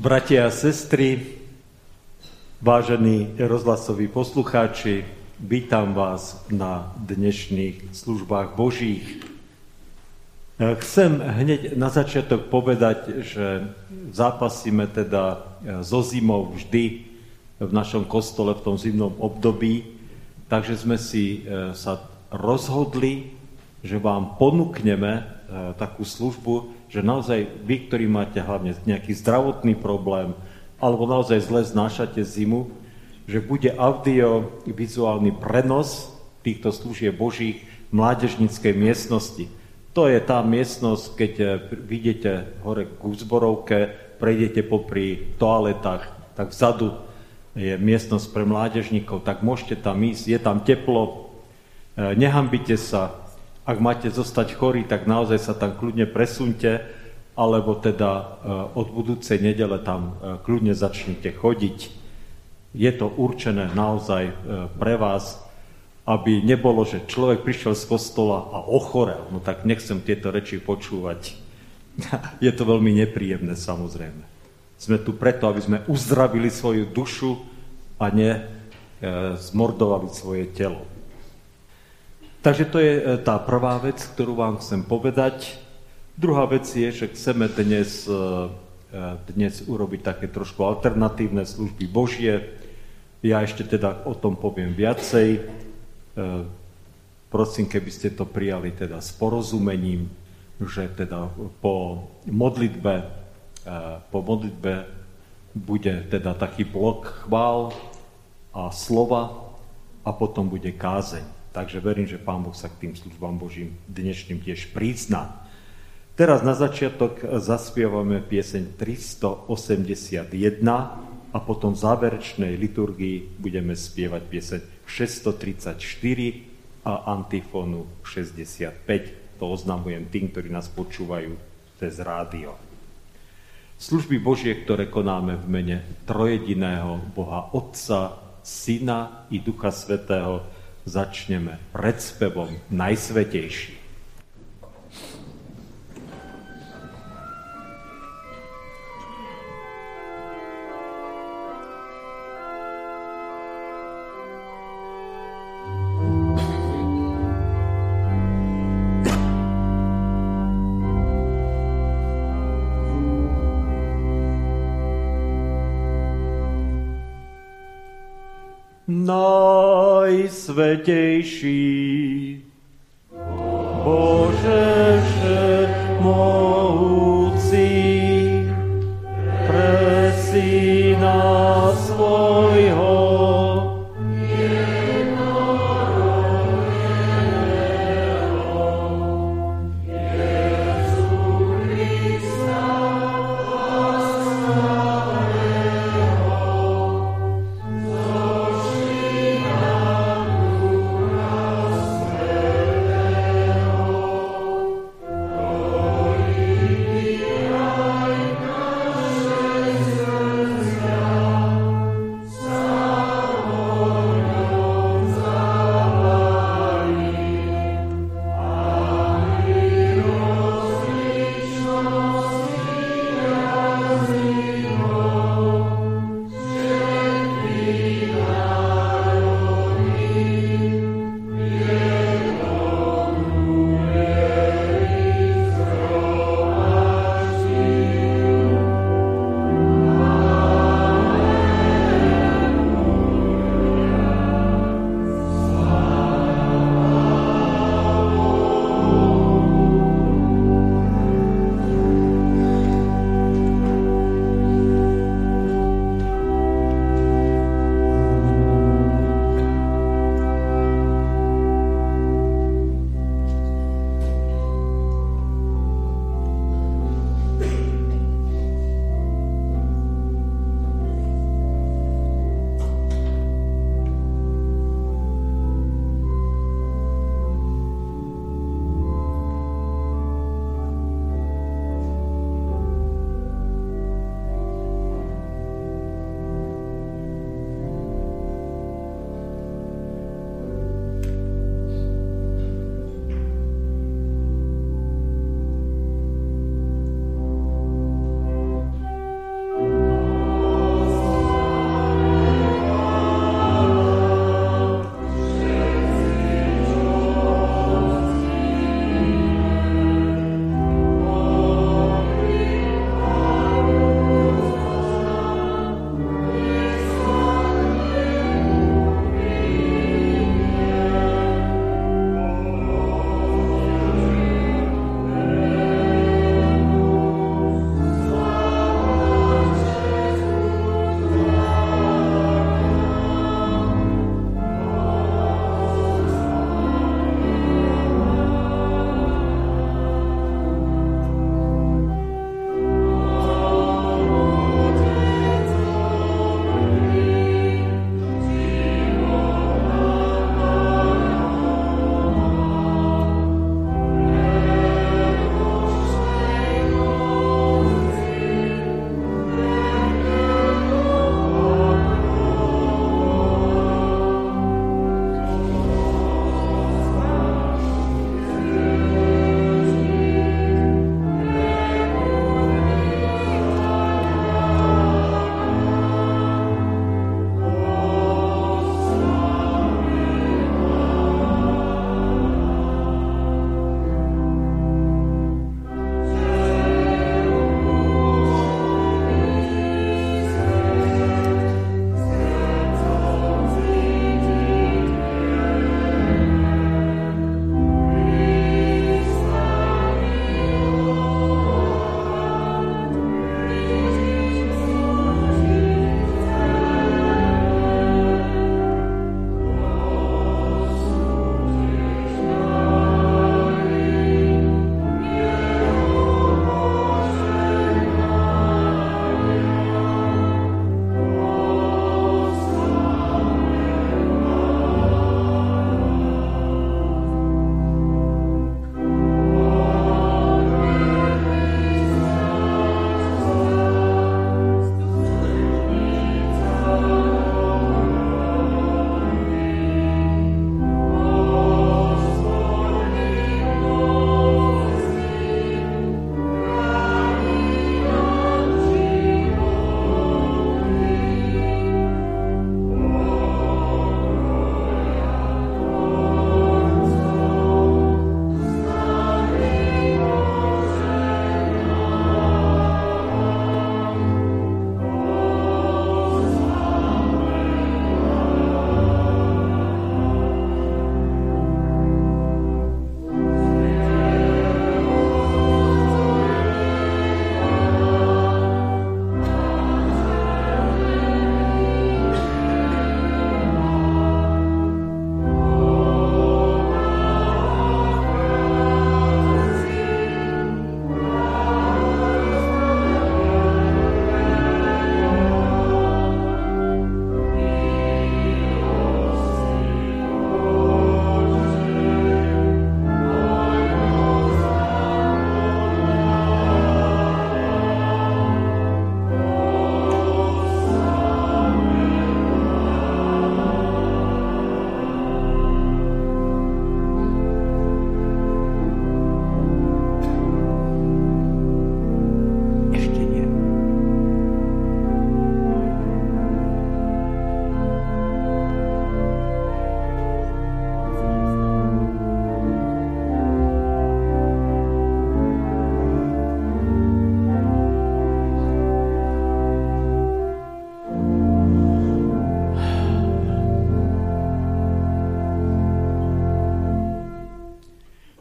Bratia a sestry, vážení rozhlasoví poslucháči, vítam vás na dnešných službách Božích. Chcem hneď na začiatok povedať, že zápasíme teda so zimou vždy v našom kostole v tom zimnom období, takže sme si sa rozhodli, že vám ponúkneme takú službu, že naozaj vy, ktorí máte hlavne nejaký zdravotný problém alebo naozaj zle znášate zimu, že bude audiovizuálny prenos týchto služieb Božích v mládežníckej miestnosti. To je tá miestnosť, keď vidíte hore k zborovke, prejdete popri toaletách, tak vzadu je miestnosť pre mládežníkov, tak môžete tam ísť, je tam teplo, nehambite sa. Ak máte zostať chorí, tak naozaj sa tam kľudne presunte, alebo teda od budúcej nedele tam kľudne začnite chodiť. Je to určené naozaj pre vás, aby nebolo, že človek prišiel z kostola a ochorel. No tak nechcem tieto reči počúvať. Je to veľmi nepríjemné, samozrejme. Sme tu preto, aby sme uzdravili svoju dušu a ne zmordovali svoje telo. Takže to je tá prvá vec, ktorú vám chcem povedať. Druhá vec je, že chceme dnes urobiť také trošku alternatívne služby Božie. Ja ešte teda o tom poviem viacej. Prosím, keby ste to prijali teda s porozumením, že teda po modlitbe bude teda taký blok chvál a slova a potom bude kázeň. Takže verím, že Pán Boh sa k tým službám Božím dnešným tiež prizná. Teraz na začiatok zaspievame pieseň 381 a potom v záverečnej liturgii budeme spievať pieseň 634 a antifónu 65. To oznamujem tým, ktorí nás počúvajú cez rádio. Služby Božie, ktoré konáme v mene trojediného Boha Otca, Syna i Ducha Svätého, začneme predspevom Najsvätejší. Najsvätejší Bože všemohúci, pre Syna svojho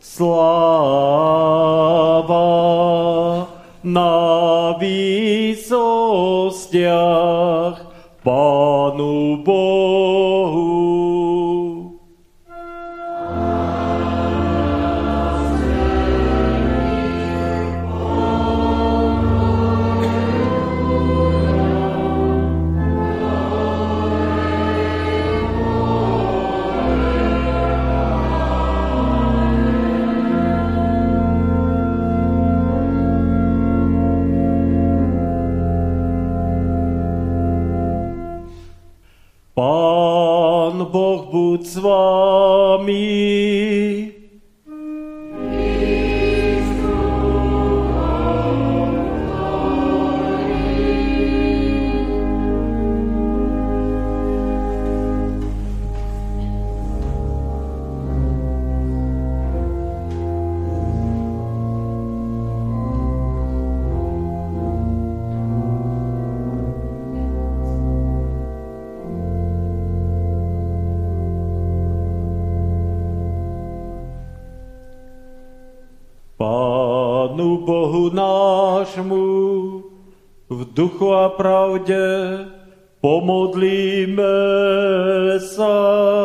Sláva na výsostiach Pánu Bohu. Pán Boh buď s vámi. Pánu Bohu nášmu v duchu a pravde pomodlíme sa.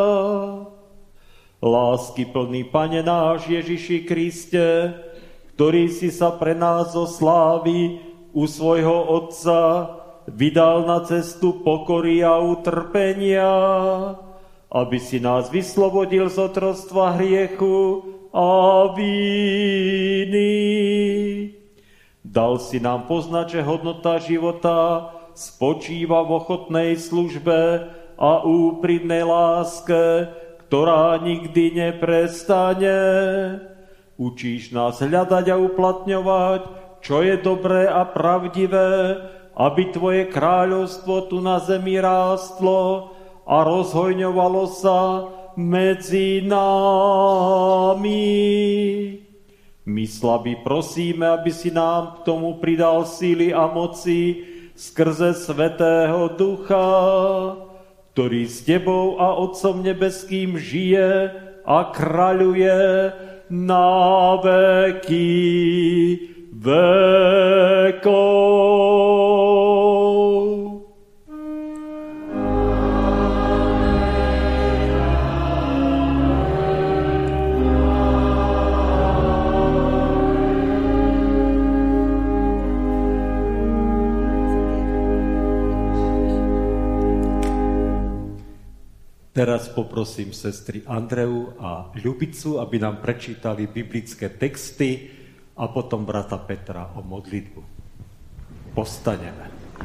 Láskyplný Pane náš Ježiši Kriste, ktorý si sa pre nás zo slávy u svojho Otca vydal na cestu pokory a utrpenia, aby si nás vyslobodil z otroctva hriechu a víny. Dal si nám poznať, že hodnota života spočíva v ochotnej službe a úprimnej láske, ktorá nikdy neprestane. Učíš nás hľadať a uplatňovať, čo je dobré a pravdivé, aby Tvoje kráľovstvo tu na zemi rástlo a rozhojňovalo sa medzi nami. My slabí prosíme, aby si nám k tomu pridal síly a moci skrze Svätého Ducha, ktorý s Tebou a Otcom nebeským žije a kráľuje na veky vekov. Teraz poprosím sestry Andreu a Ľubicu, aby nám prečítali biblické texty a potom brata Petra o modlitbu. Postaneme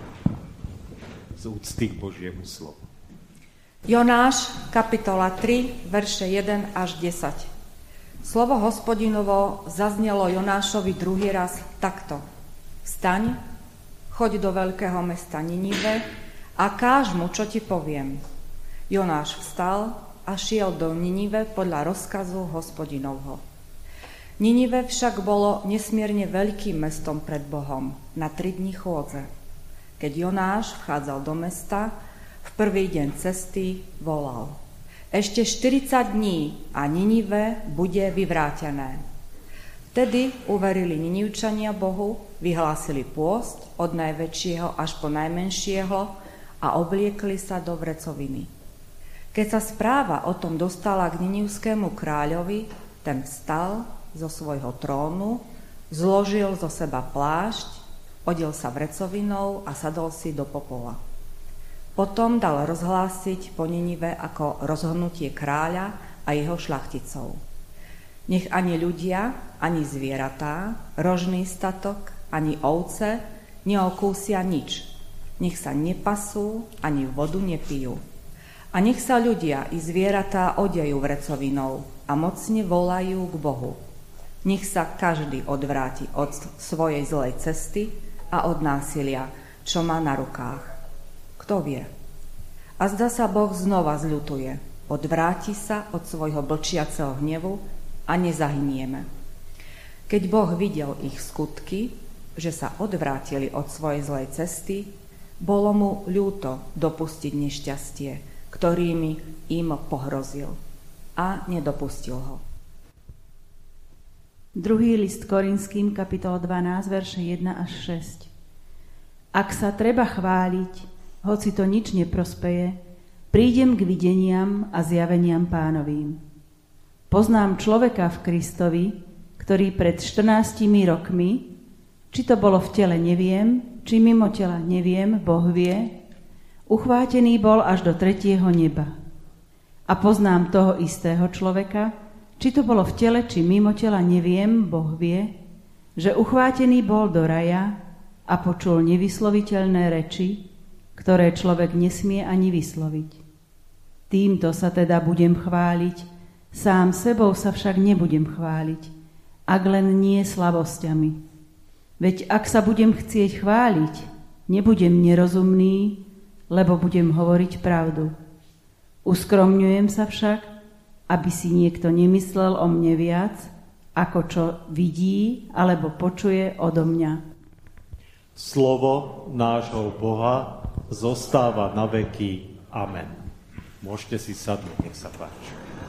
z úcty k Božiemu slovu. Jonáš, kapitola 3, verše 1 až 10. Slovo Hospodinovo zaznelo Jonášovi druhý raz takto. Vstaň, choď do veľkého mesta Ninive a káž mu, čo ti poviem. Jonáš vstal a šiel do Ninive podľa rozkazu Hospodinovho. Ninive však bolo nesmierne veľkým mestom pred Bohom na 3 dní chôdze. Keď Jonáš vchádzal do mesta, v prvý deň cesty volal: Ešte 40 dní a Ninive bude vyvrátené. Vtedy uverili Ninivčania Bohu, vyhlásili pôst od najväčšieho až po najmenšieho a obliekli sa do vrecoviny. Keď sa správa o tom dostala k ninivskému kráľovi, ten vstal zo svojho trónu, zložil zo seba plášť, odel sa vrecovinou a sadol si do popola. Potom dal rozhlásiť po Ninive ako rozhodnutie kráľa a jeho šľachticov. Nech ani ľudia, ani zvieratá, rožný statok, ani ovce neokúsia nič. Nech sa nepasú, ani vodu nepijú. A nech sa ľudia i zvieratá odejú vrecovinou a mocne volajú k Bohu. Nech sa každý odvráti od svojej zlej cesty a od násilia, čo má na rukách. Kto vie? A zda sa Boh znova zľutuje, odvráti sa od svojho blčiaceho hnevu a nezahynieme. Keď Boh videl ich skutky, že sa odvrátili od svojej zlej cesty, bolo mu ľúto dopustiť nešťastie, ktorými im pohrozil, a nedopustil ho. Druhý list Korinským, kapitola 12, verše 1 až 6. Ak sa treba chváliť, hoci to nič neprospeje, prídem k videniam a zjaveniam Pánovým. Poznám človeka v Kristovi, ktorý pred 14 rokmi, či to bolo v tele, neviem, či mimo tela, neviem, Boh vie, uchvátený bol až do 3. neba. A poznám toho istého človeka, či to bolo v tele, či mimo tela, neviem, Boh vie, že uchvátený bol do raja a počul nevysloviteľné reči, ktoré človek nesmie ani vysloviť. Týmto sa teda budem chváliť, sám sebou sa však nebudem chváliť, ak len nie slabosťami. Veď ak sa budem chcieť chváliť, nebudem nerozumný, lebo budem hovoriť pravdu. Uskromňujem sa však, aby si niekto nemyslel o mne viac, ako čo vidí alebo počuje odo mňa. Slovo nášho Boha zostáva na veky. Amen. Môžete si sadnúť, nech sa páči.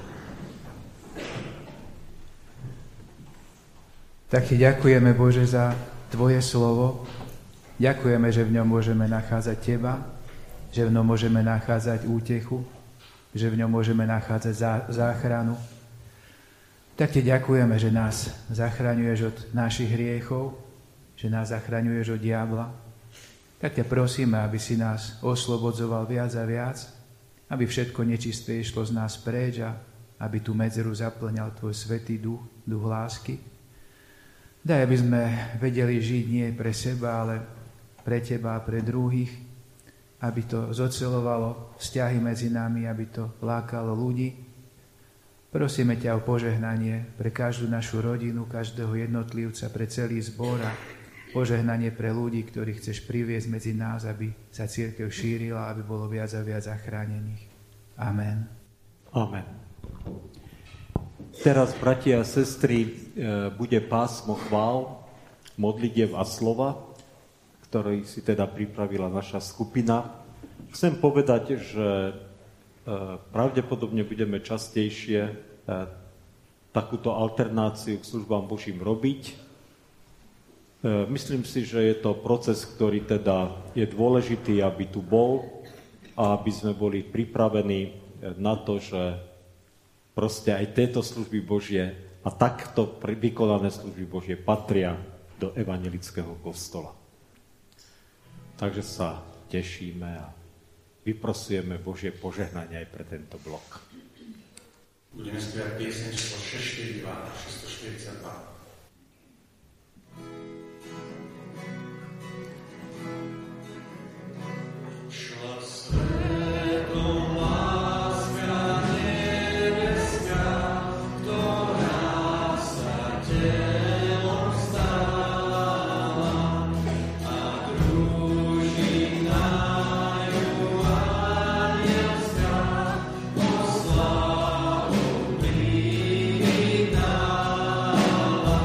Tak ti ďakujeme, Bože, za Tvoje slovo. Ďakujeme, že v ňom môžeme nachádzať Teba, že v ňom môžeme nachádzať útechu, že v ňom môžeme nachádzať záchranu. Tak ti ďakujeme, že nás zachraňuješ od našich hriechov, že nás zachraňuješ od diabla. Tak ťa prosíme, aby si nás oslobodzoval viac a viac, aby všetko nečisté išlo z nás preč a aby tú medzeru zaplňal Tvoj svätý duch, duch lásky. Daj, aby sme vedeli žiť nie pre seba, ale pre Teba a pre druhých, aby to zocelovalo vzťahy medzi nami, aby to lákalo ľudí. Prosíme ťa o požehnanie pre každú našu rodinu, každého jednotlivca, pre celý zbor a požehnanie pre ľudí, ktorých chceš priviesť medzi nás, aby sa cirkev šírila, aby bolo viac a viac zachránených. Amen. Amen. Teraz, bratia a sestry, bude pásmo chvál, modlitev a slova, ktorý si teda pripravila naša skupina. Chcem povedať, že pravdepodobne budeme častejšie takúto alternáciu k službám Božím robiť. Myslím si, že je to proces, ktorý teda je dôležitý, aby tu bol a aby sme boli pripravení na to, že proste aj tieto služby Božie a takto vykonané služby Božie patria do evangelického kostola. Takže sa tešíme a vyprosujeme Božie požehnanie aj pre tento blok. Budeme spievať pieseň číslo 642 a 642. Oh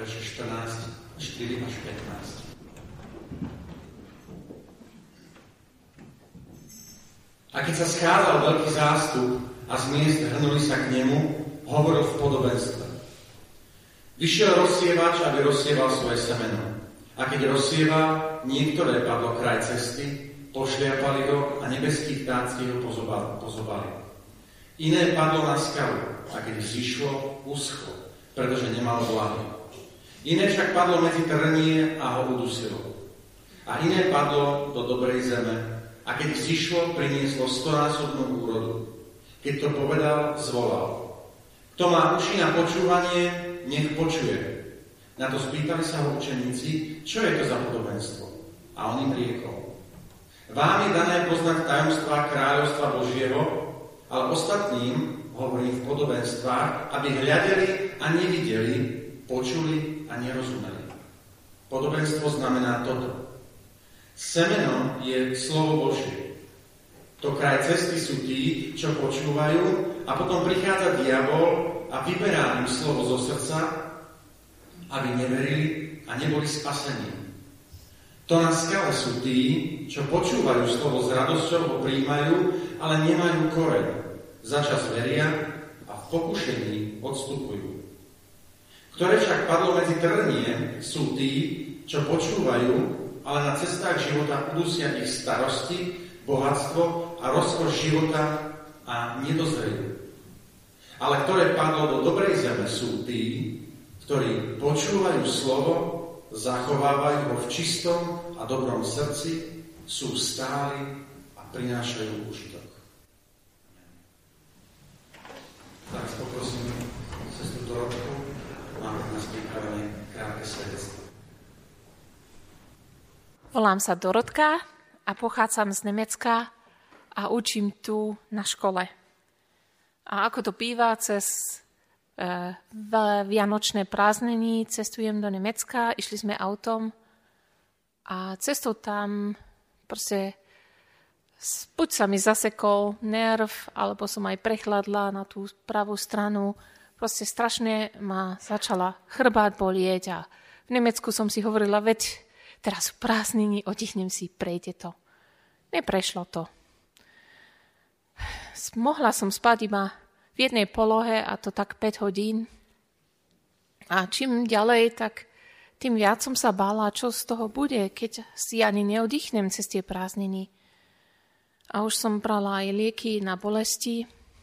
verše 14, 4 až 15. A keď sa schádzal veľký zástup a z miest hrnuli sa k nemu, hovoril v podobenstve. Vyšiel rozsievač, aby rozsieval svoje semeno. A keď rozsieva, niektoré padlo kraj cesty, pošliapali ho a nebeskí vtáci ho pozobali. Iné padlo na skalu a keď zišlo, uschlo, pretože nemal vlahy. Iné však padlo medzi trnie a ho udusilo. A iné padlo do dobrej zeme a keď zišlo, prinieslo 100-násobnú úrodu. Keď to povedal, zvolal. Kto má uši na počúvanie, nech počuje. Na to spýtali sa ho učeníci, čo je to za podobenstvo. A on im riekol. Vám je dané poznať tajomstvá kráľovstva Božieho, ale ostatným hovorím v podobenstvách, aby hľadeli a nevideli, počuli a nerozumeli. Podobenstvo znamená toto. Semeno je slovo Božie. To kraj cesty sú tí, čo počúvajú a potom prichádza diabol a vyberá im slovo zo srdca, aby neverili a neboli spasení. To na skale sú tí, čo počúvajú slovo s radosťou, ho prijímajú, ale nemajú koreň. Začas veria a v pokušení odstupujú. Ktoré však padlo medzi trnie, sú tí, čo počúvajú, ale na cestách života udusia ich starosti, bohatstvo a rozkoš života a nedozrejú. Ale ktoré padlo do dobrej zeme, sú tí, ktorí počúvajú slovo, zachovávajú ho v čistom a dobrom srdci, sú stáli a prinášajú užitok. Teraz poprosím sestru Dorotku, máme nás pripravené krátke svedectvo. Volám sa Dorotka a pochádzam z Nemecka a učím tu na škole. A ako to býva, cez vianočné prázdniny cestujem do Nemecka, išli sme autom a cestou tam proste buď sa mi zasekol nerv, alebo som aj prechladla na tú pravú stranu. Proste strašne ma začala chrbát bolieť a v Nemecku som si hovorila, veď teraz sú prázdniny, oddychnem si, prejde to. Neprešlo to. Mohla som spať iba v jednej polohe a to tak 5 hodín. A čím ďalej, tak tým viac som sa bála, čo z toho bude, keď si ani neoddychnem cez tie prázdniny. A už som brala aj lieky na bolesti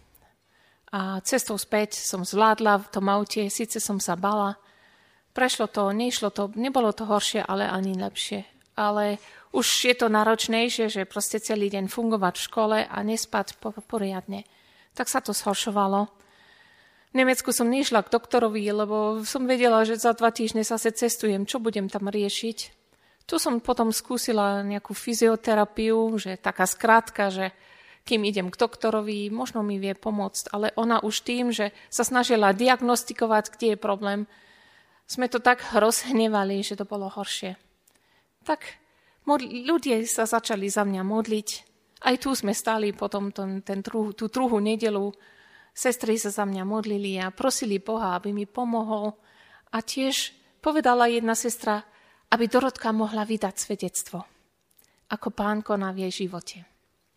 a cestou späť som zvládla v tom aute, síce som sa bála. Prešlo to, nešlo to, nebolo to horšie, ale ani lepšie. Ale už je to náročnejšie, že proste celý deň fungovať v škole a nespať poriadne. Tak sa to zhoršovalo. V Nemecku som nešla k doktorovi, lebo som vedela, že za 2 týždne zase cestujem, čo budem tam riešiť. Tu som potom skúsila nejakú fyzioterapiu, že taká skrátka, že kým idem k doktorovi, možno mi vie pomôcť, ale ona už tým, že sa snažila diagnostikovať, kde je problém, sme to tak rozhnevali, že to bolo horšie. Tak ľudia sa začali za mňa modliť. Aj tu sme stáli potom tú druhú nedeľu. Sestry sa za mňa modlili a prosili Boha, aby mi pomohol. A tiež povedala jedna sestra, aby Dorotka mohla vydať svedectvo, ako Pán koná v jej živote.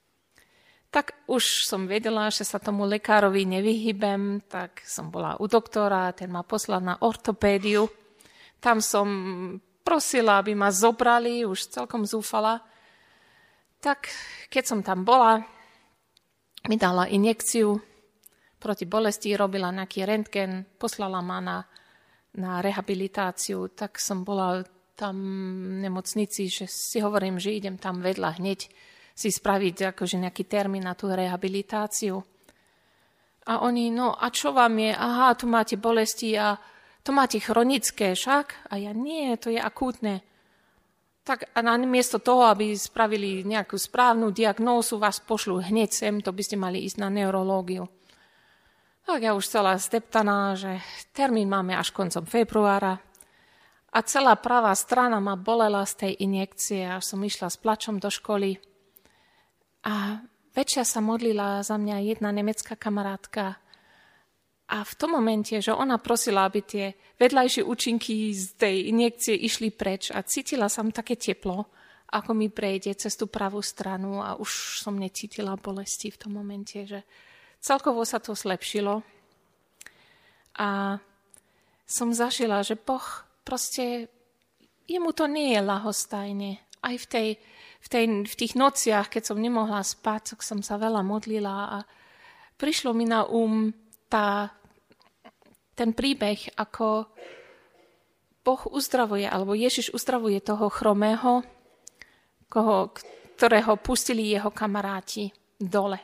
Tak už som vedela, že sa tomu lekárovi nevyhybem, tak som bola u doktora, ten ma poslal na ortopédiu. Tam som prosila, aby ma zobrali, už celkom zúfala. Tak keď som tam bola, mi dala injekciu proti bolesti, robila nejaký rentgen, poslala ma na rehabilitáciu, tak som bola tam v nemocnici, že si hovorím, že idem tam vedľa hneď si spraviť akože nejaký termín na tú rehabilitáciu. A oni, no a čo vám je? Aha, tu máte bolesti a to máte chronické však? A ja, nie, to je akútne. Tak a namiesto toho, aby spravili nejakú správnu diagnózu, vás pošlú hneď sem, to by ste mali ísť na neurológiu. Tak ja už celá zdeptaná, že termín máme až koncom februára a celá pravá strana ma bolela z tej injekcie a som išla s plačom do školy. A večer sa modlila za mňa jedna nemecká kamarátka A v tom momente, že ona prosila, aby tie vedľajšie účinky z tej injekcie išli preč a cítila som také teplo, ako mi prejde cez tú pravú stranu a už som necítila bolesti v tom momente, že celkovo sa to zlepšilo. A som zažila, že Boh proste, jemu to nie je ľahostajne. Aj v tých nociach, keď som nemohla spať, tak som sa veľa modlila a prišlo mi na ten príbeh, ako Boh uzdravuje, alebo Ježiš uzdravuje toho chromého, ktorého pustili jeho kamaráti dole.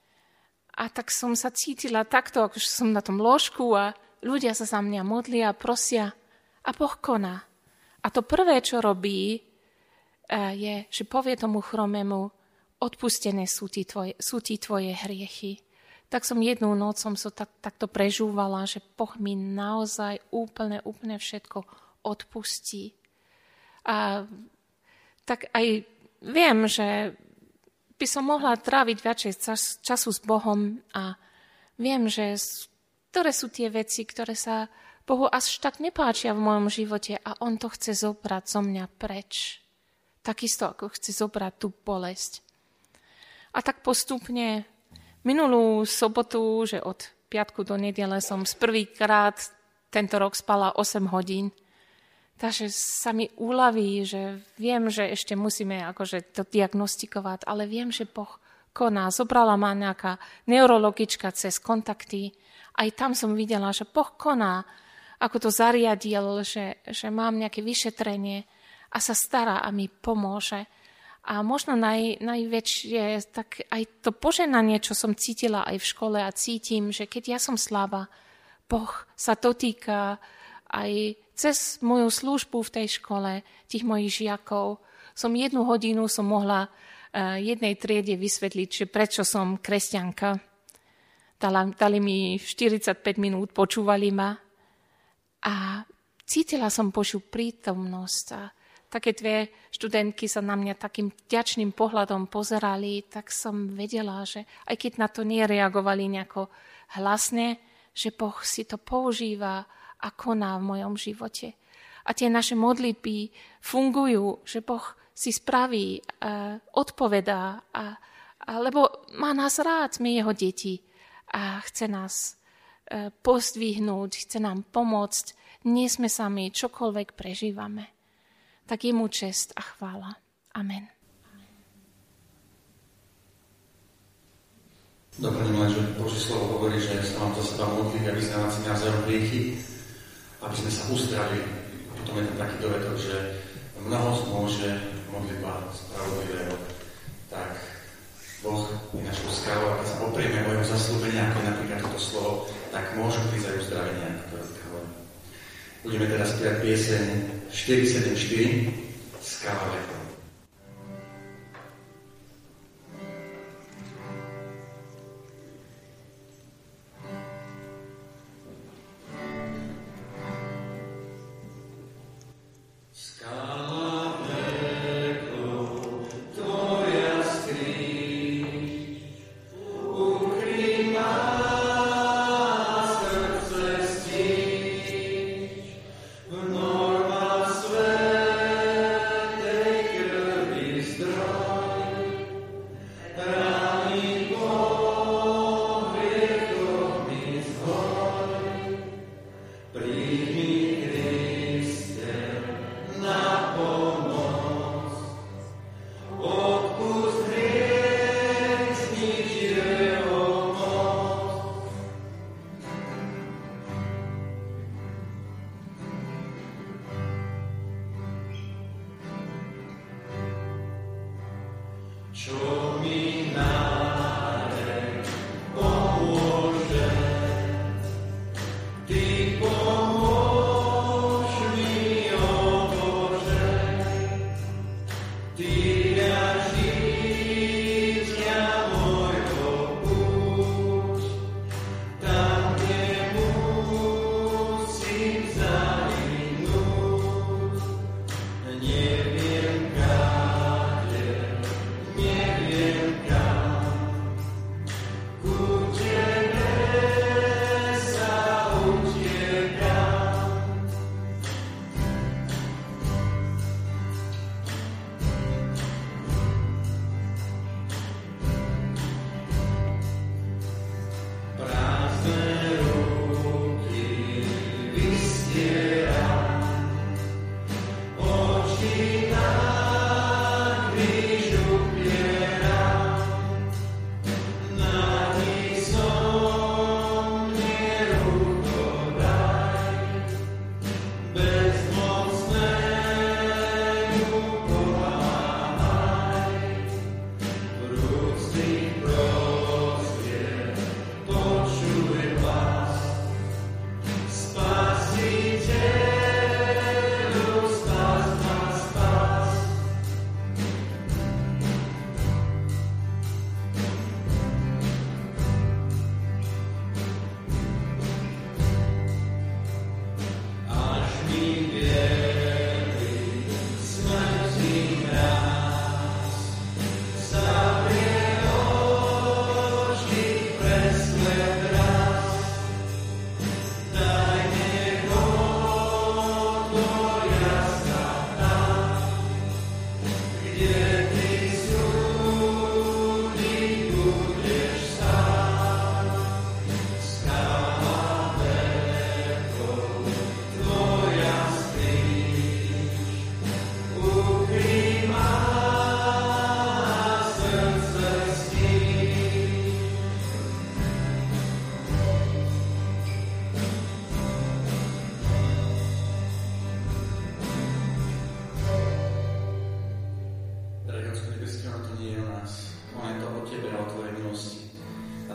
A tak som sa cítila takto, ako som na tom lôžku a ľudia sa za mňa modlia a prosia a Boh koná. A to prvé, čo robí, je, že povie tomu chromému, odpustené sú ti tvoje hriechy. Tak som jednu noc takto prežúvala, že Boh mi naozaj úplne všetko odpustí. A tak aj viem, že by som mohla tráviť viacej času s Bohom a viem, že ktoré sú tie veci, ktoré sa Bohu až tak nepáčia v mojom živote a on to chce zobrať zo mňa preč. Takisto, ako chce zobrať tú bolesť. A tak postupne minulú sobotu, že od piatku do nedele som prvýkrát tento rok spala 8 hodín. Takže sa mi uľaví, že viem, že ešte musíme akože to diagnostikovať, ale viem, že Boh koná. Zobrala ma nejaká neurologička cez kontakty. Aj tam som videla, že Boh koná, ako to zariadil, že mám nejaké vyšetrenie a sa stará a mi pomôže. A možno najväčšie, tak aj to požehnanie, čo som cítila aj v škole a cítim, že keď ja som slabá, Boh sa dotýka aj cez moju službu v tej škole, tých mojich žiakov. 1 hodinu som mohla jednej triede vysvetliť, že prečo som kresťanka. Dali mi 45 minút, počúvali ma a cítila som Božiu prítomnosť a také 2 študentky sa na mňa takým vďačným pohľadom pozerali, tak som vedela, že aj keď na to nereagovali nejako hlasne, že Boh si to používa a koná v mojom živote. A tie naše modlitby fungujú, že Boh si spraví, odpovedá, lebo má nás rád, sme jeho deti a chce nás pozdvihnúť, chce nám pomôcť, nie sme sami, čokoľvek prežívame. Tak je mu čest a chvála. Amen. Doplním len, že Božie slovo hovorí, že sa mám za seba modliť a vyznávať si navzájom hriechy, aby sme sa uzdravili. A potom je tam taký dovetok, že mnoho zmôže modlitba spravodlivého. Tak Boh je našou skálou a keď sa oprieme o jeho zasľúbenia, ako napríklad toto slovo, tak môžu prísť aj uzdravenia, ako to hovorí. Budeme teraz spievať pieseň 474 Skála vekov. Neviem,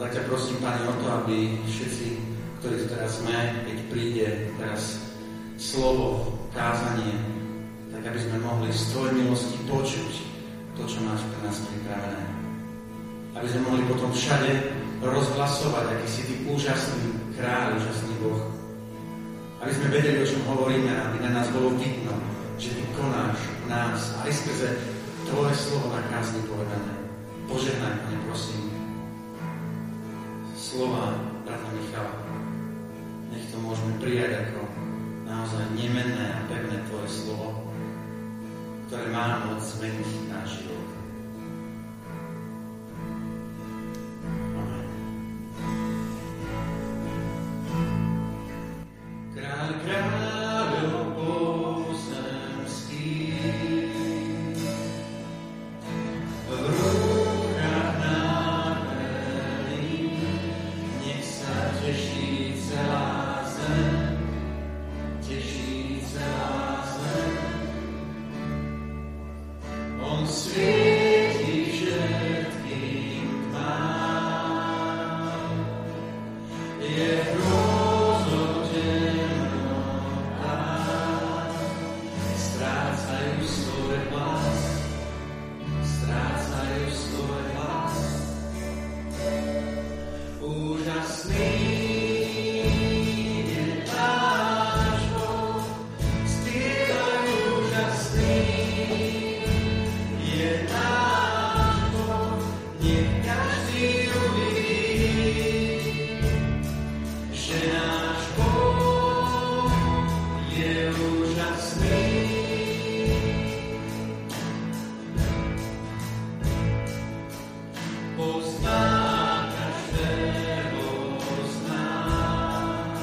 tak ťa prosím, Pane, o to, aby všetci, ktorí tu teraz sme, keď príde teraz slovo, kázanie, tak aby sme mohli z Tvojej milosti počuť to, čo máš pre nás pripravené. Aby sme mohli potom všade rozhlasovať, aký si Ty úžasný kráľ, úžasný Boh. Aby sme vedeli, o čom hovoríme, aby na nás bolo vidno, že Ty konáš v nás aj skrze Tvoje slovo na kázni povedané. Požehnaj, Pane, prosím, slova brata Michala. Nech to môžeme prijať ako naozaj nemenné a pevné Tvoje slovo, ktoré má moc zmeniť náš život. Amen. Kráľ kráľov pozemských, v rukách nábených, nech sa teší celá zem, teší celá zem. On svieti všetkým tmám, je hrôzou temnotách, strácajú svoj hlas, strácajú svoj hlas. Úžasný je náš Boh, spievaj úžasný je náš Boh, nech každý uvidí, že náš Boh je úžasný. Pozná každého z nás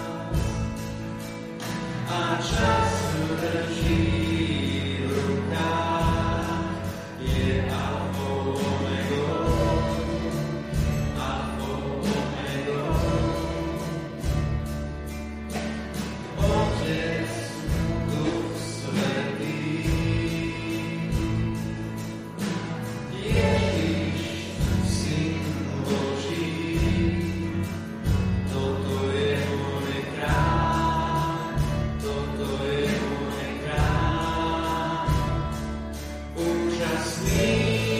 a čas drží v rukách, je Alfou Omegou, Alfou Omegou. Otec, Duch Svätý, Ježiš, Syn Boží, toto je môj kráľ, toto je môj kráľ. Úžasný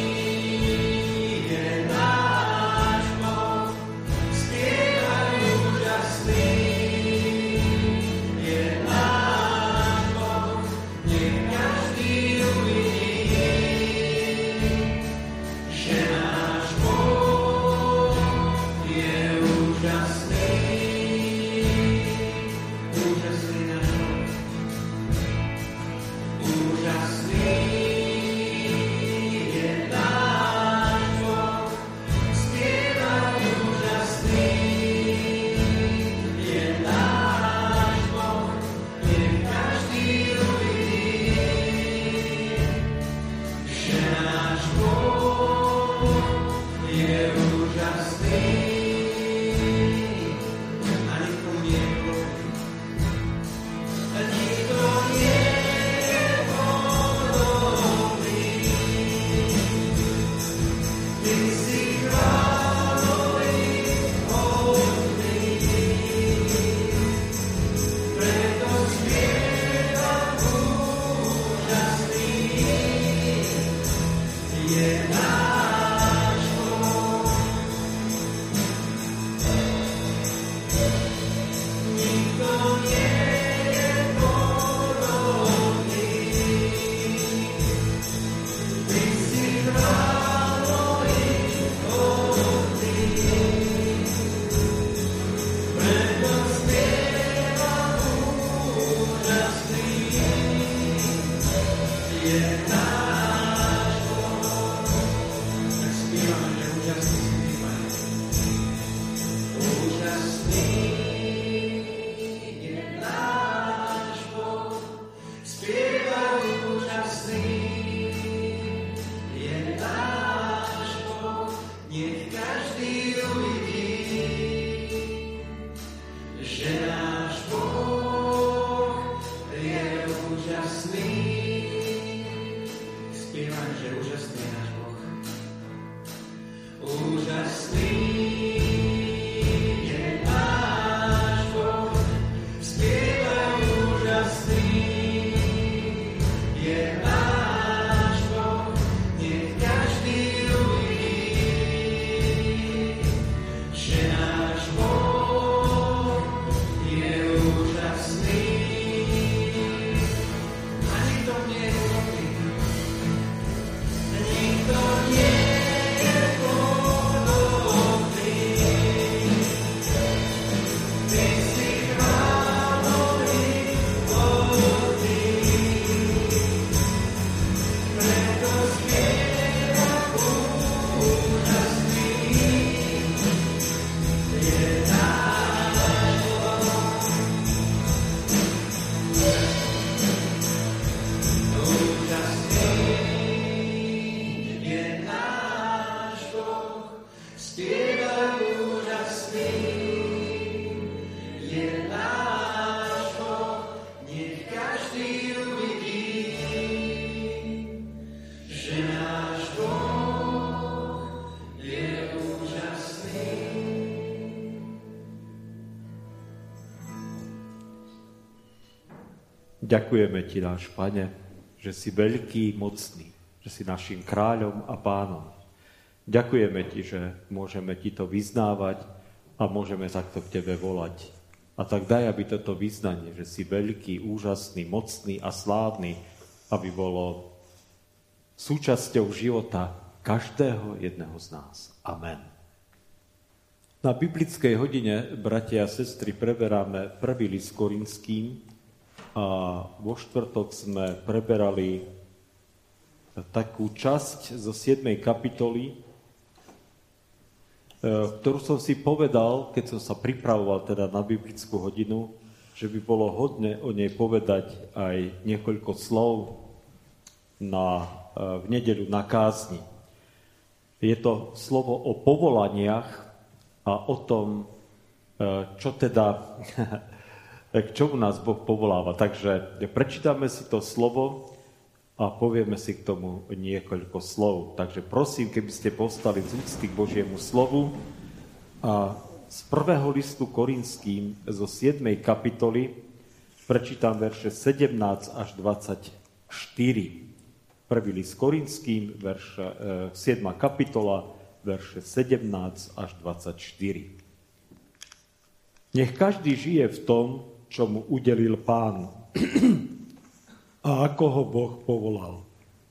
je náš Boh, spievaj úžasný je náš Boh, nech každý uvidí, že náš Boh je úžasný. Úžasný náš Boh, úžasný je náš Boh, spievaj úžasný je náš Boh, nech každý uvidí, že náš Boh je úžasný. A nikto nie je podobný. A nikto nie je podobný. Ty si chválový, hodný, preto spievam úžasný je náš Boh. Nikto nie je podobný. Ty si chválový, Ďakujeme Ti, náš Pane, že si veľký, mocný, že si našim kráľom a pánom. Ďakujeme Ti, že môžeme Ti to vyznávať a môžeme takto k Tebe volať. A tak daj, aby toto vyznanie, že si veľký, úžasný, mocný a slávny, aby bolo súčasťou života každého jedného z nás. Amen. Na biblickej hodine, bratia a sestry, preberáme prvý list Korinským, a vo štvrtok sme preberali takú časť zo 7. kapitoly, ktorú som si povedal, keď som sa pripravoval teda na biblickú hodinu, že by bolo hodné o nej povedať aj niekoľko slov v nedeľu na kázni. Je to slovo o povolaniach a o tom, čo teda... k čomu nás Boh povoláva. Takže prečítame si to slovo a povieme si k tomu niekoľko slov. Takže prosím, keby ste povstali z úcty k Božiemu slovu a z prvého listu Korinským zo 7. kapitoly prečítam verše 17 až 24. Prvý list Korinským, 7. kapitola, verše 17 až 24. Nech každý žije v tom, čo mu udelil Pán a ako ho Boh povolal.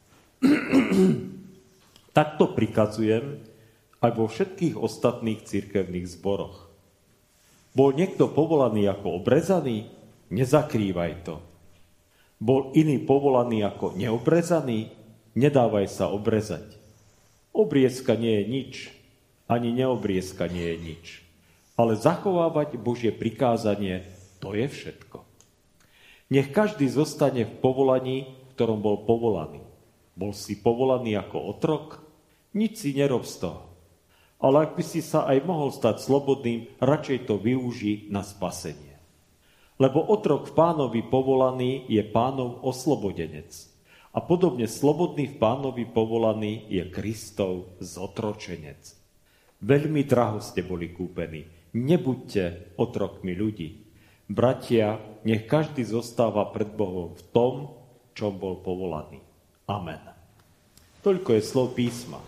Takto prikazujem aj vo všetkých ostatných cirkevných zboroch. Bol niekto povolaný ako obrezaný? Nezakrývaj to. Bol iný povolaný ako neobrezaný? Nedávaj sa obrezať. Obriezka nie je nič, ani neobriezka nie je nič. Ale zachovávať Božie prikázanie, to je všetko. Nech každý zostane v povolaní, v ktorom bol povolaný. Bol si povolaný ako otrok? Nič si nerob z toho. Ale ak by si sa aj mohol stať slobodným, radšej to využij na spasenie. Lebo otrok v Pánovi povolaný je Pánov oslobodenec. A podobne slobodný v Pánovi povolaný je Kristov zotročenec. Veľmi draho ste boli kúpení. Nebuďte otrokmi ľudí. Bratia, nech každý zostáva pred Bohom v tom, čom bol povolaný. Amen. Toľko je slov písma.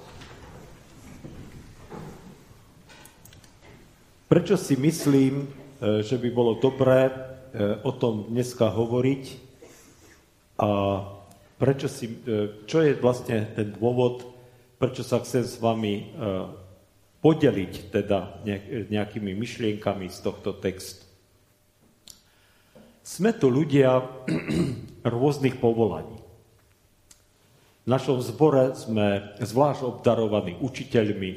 Prečo si myslím, že by bolo dobré o tom dneska hovoriť a čo je vlastne ten dôvod, prečo sa chcem s vami podeliť teda nejakými myšlienkami z tohto textu. Sme tu ľudia rôznych povolaní. V našom zbore sme zvlášť obdarovaní učiteľmi,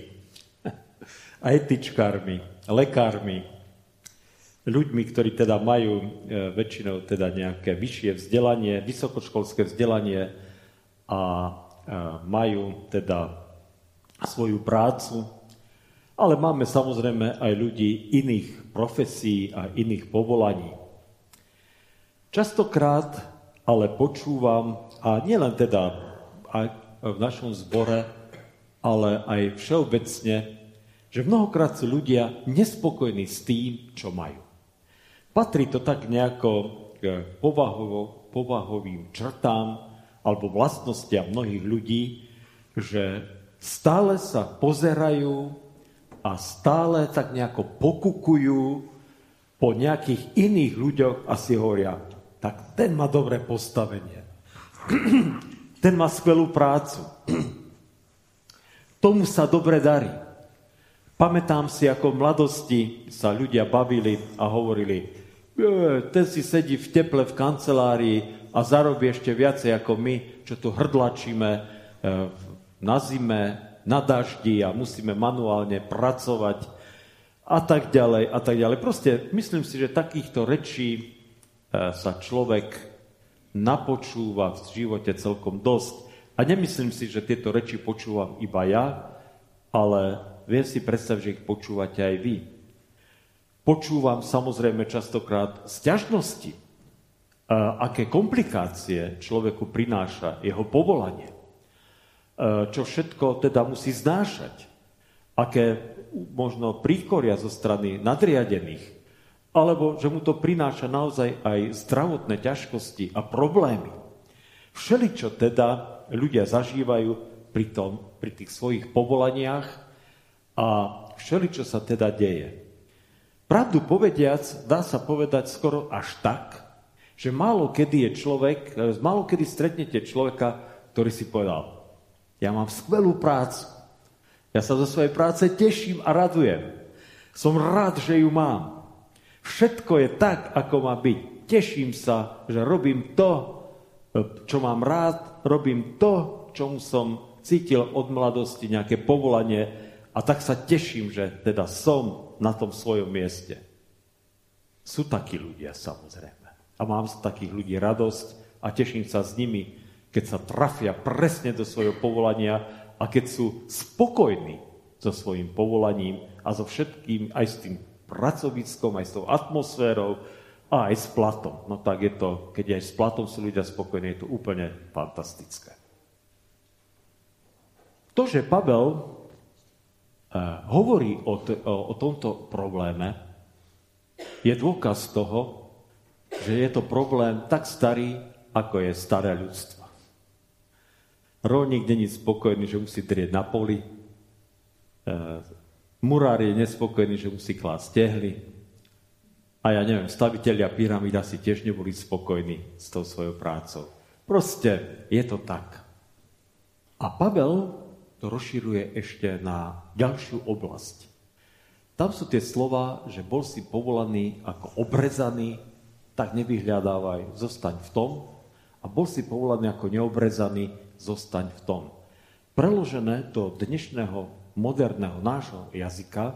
etičkármi, lekármi, ľuďmi, ktorí teda majú väčšinou teda nejaké vyššie vzdelanie, vysokoškolské vzdelanie a majú teda svoju prácu. Ale máme samozrejme aj ľudí iných profesí a iných povolaní. Častokrát ale počúvam, a nielen teda aj v našom zbore, ale aj všeobecne, že mnohokrát sú ľudia nespokojní s tým, čo majú. Patrí to tak nejako k povahovým črtám alebo vlastnostiam mnohých ľudí, že stále sa pozerajú a stále tak nejako pokukujú po nejakých iných ľuďoch a si hovoria, tak ten má dobré postavenie. Ten má skvelú prácu. Tomu sa dobre darí. Pamätám si, ako v mladosti sa ľudia bavili a hovorili, ten si sedí v teple v kancelárii a zarobí ešte viacej ako my, čo tu hrdlačíme na zime, na daždi a musíme manuálne pracovať a tak ďalej a tak ďalej. Proste myslím si, že takýchto rečí sa človek napočúva v živote celkom dosť. A nemyslím si, že tieto reči počúvam iba ja, ale viem si predstaviť, že ich počúvate aj vy. Počúvam samozrejme častokrát sťažnosti, aké komplikácie človeku prináša jeho povolanie. Čo všetko teda musí znášať. Aké možno príkoria zo strany nadriadených. Alebo že mu to prináša naozaj aj zdravotné ťažkosti a problémy. Všeličo teda ľudia zažívajú pri tých svojich povolaniach a všeličo sa teda deje. Pravdu povediac, dá sa povedať skoro až tak, že málo kedy stretnete človeka, ktorý si povedal: ja mám skvelú prácu, ja sa zo svojej práce teším a radujem, som rád, že ju mám. Všetko je tak, ako má byť. Teším sa, že robím to, čo mám rád, robím to, čomu som cítil od mladosti, nejaké povolanie, a tak sa teším, že teda som na tom svojom mieste. Sú takí ľudia, samozrejme. A mám z takých ľudí radosť a teším sa s nimi, keď sa trafia presne do svojho povolania a keď sú spokojní so svojím povolaním a so všetkým, aj s tým pracoviskom, aj s tou atmosférou a aj s platom. No tak je to, keď aj s platom sú ľudia spokojní, je to úplne fantastické. To, že Pavel hovorí o tomto probléme, je dôkaz toho, že je to problém tak starý, ako je staré ľudstvo. Rolník není spokojný, že musí drieť na poli. Murár je nespokojný, že musí klásť tehly. A ja neviem, stavitelia pyramíd asi tiež neboli spokojní s tou svojou prácou. Proste je to tak. A Pavel to rozširuje ešte na ďalšiu oblasť. Tam sú tie slova, že bol si povolaný ako obrezaný, tak nevyhľadávaj, zostaň v tom. A bol si povolaný ako neobrezaný, zostaň v tom. Preložené do dnešného moderného nášho jazyka,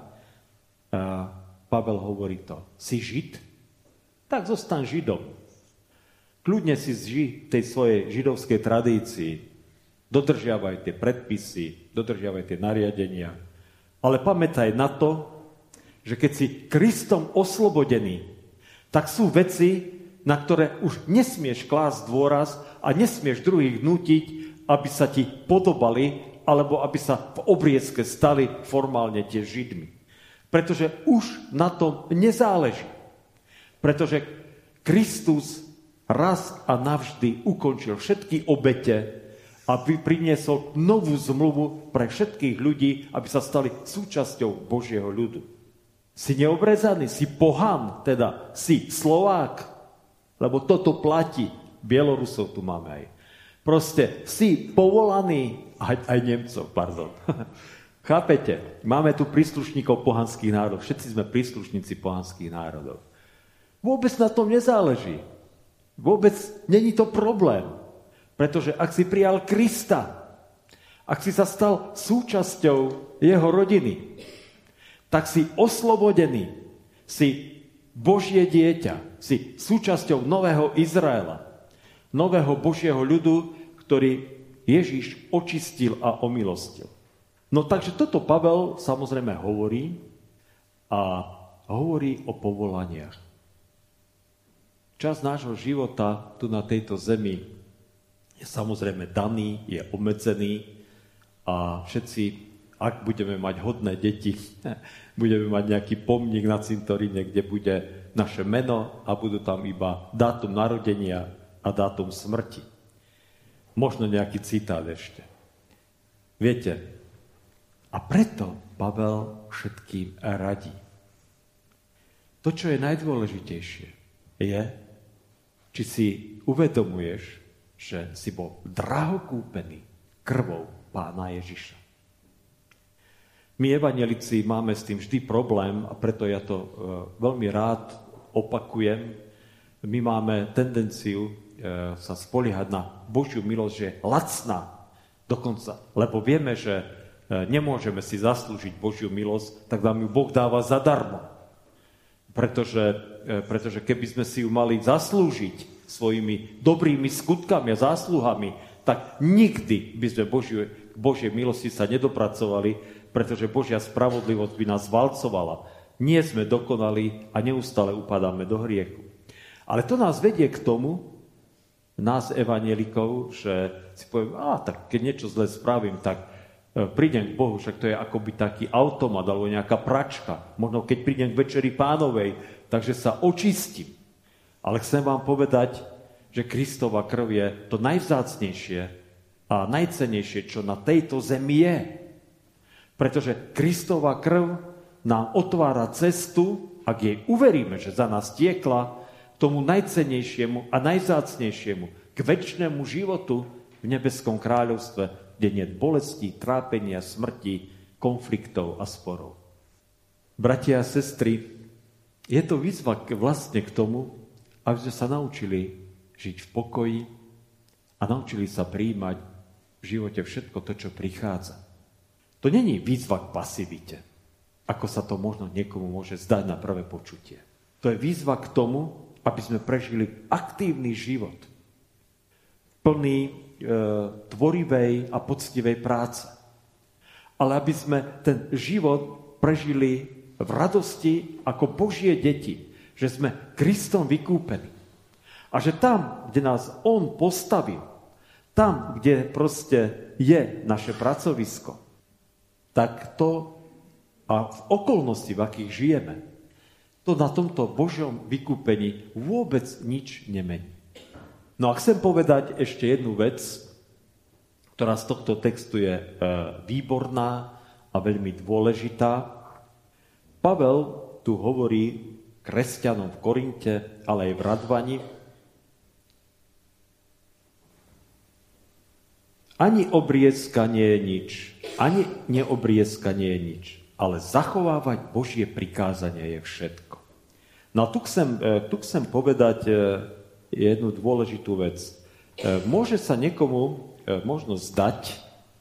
Pavel hovorí to: si Žid? Tak zostaň Židom. Kľudne si žij tej svojej židovskej tradícii. Dodržiavaj tie predpisy, dodržiavaj tie nariadenia. Ale pamätaj na to, že keď si Kristom oslobodený, tak sú veci, na ktoré už nesmieš klásť dôraz a nesmieš druhých nútiť, aby sa ti podobali, alebo aby sa v obriezke stali formálne tie Židmi. Pretože už na tom nezáleží. Pretože Kristus raz a navždy ukončil všetky obete, aby priniesol novú zmluvu pre všetkých ľudí, aby sa stali súčasťou Božieho ľudu. Si neobrezaný, si pohan, teda si Slovák, lebo toto platí. Bielorusov tu máme aj. Proste si povolaný, aj Nemcov, pardon. Chápete? Máme tu príslušníkov pohanských národov. Všetci sme príslušníci pohanských národov. Vôbec na tom nezáleží. Vôbec není to problém. Pretože ak si prijal Krista, ak si sa stal súčasťou jeho rodiny, tak si oslobodený, si Božie dieťa, si súčasťou nového Izraela, nového Božieho ľudu, ktorý Ježiš očistil a omilostil. No takže toto Pavel samozrejme hovorí a hovorí o povolaniach. Čas nášho života tu na tejto zemi je samozrejme daný, je obmedzený a všetci, ak budeme mať hodné deti, budeme mať nejaký pomník na cintoríne, kde bude naše meno a budú tam iba dátum narodenia a dátum smrti. Možno nejaký citát ešte. Viete, a preto Pavel všetkým radí. To, čo je najdôležitejšie, je, či si uvedomuješ, že si bol draho kúpený krvou Pána Ježiša. My evanjelici máme s tým vždy problém a preto ja to veľmi rád opakujem. My máme tendenciu sa spoliehať na Božiu milosť, že je lacná dokonca, lebo vieme, že nemôžeme si zaslúžiť Božiu milosť, tak nám ju Boh dáva zadarmo. Pretože keby sme si ju mali zaslúžiť svojimi dobrými skutkami a zásluhami, tak nikdy by sme Božej milosti sa nedopracovali, pretože Božia spravodlivosť by nás valcovala. Nie sme dokonali a neustále upadáme do hriechu. Ale to nás vedie k tomu, nás evanjelikov, že si poviem, tak keď niečo zle spravím, tak prídem k Bohu, však to je akoby taký automat alebo nejaká pračka. Možno keď prídem k Večeri Pánovej, takže sa očistím. Ale chcem vám povedať, že Kristova krv je to najvzácnejšie a najcennejšie, čo na tejto zemi je. Pretože Kristova krv nám otvára cestu, ak jej uveríme, že za nás tiekla, tomu najcennejšiemu a najvzácnejšiemu, k večnému životu v nebeskom kráľovstve, kde nie je bolesti, trápenia, smrti, konfliktov a sporov. Bratia a sestry, je to výzva vlastne k tomu, aby sme sa naučili žiť v pokoji a naučili sa prijímať v živote všetko to, čo prichádza. To není výzva k pasivite, ako sa to možno niekomu môže zdať na prvé počutie. To je výzva k tomu, aby sme prežili aktívny život, plný tvorivej a poctivej práce. Ale aby sme ten život prežili v radosti ako Božie deti, že sme Kristom vykúpení. A že tam, kde nás On postavil, tam, kde proste je naše pracovisko, tak to a v okolnosti, v akých žijeme, to na tomto Božom vykúpení vôbec nič nemení. No a chcem povedať ešte jednu vec, ktorá z tohto textu je výborná a veľmi dôležitá. Pavel tu hovorí kresťanom v Korinte, ale aj v Radvani. Ani obriezka nie je nič, ani neobriezka nie je nič, ale zachovávať Božie prikázanie je všetko. No a tu chcem povedať jednu dôležitú vec. Môže sa niekomu možno zdať,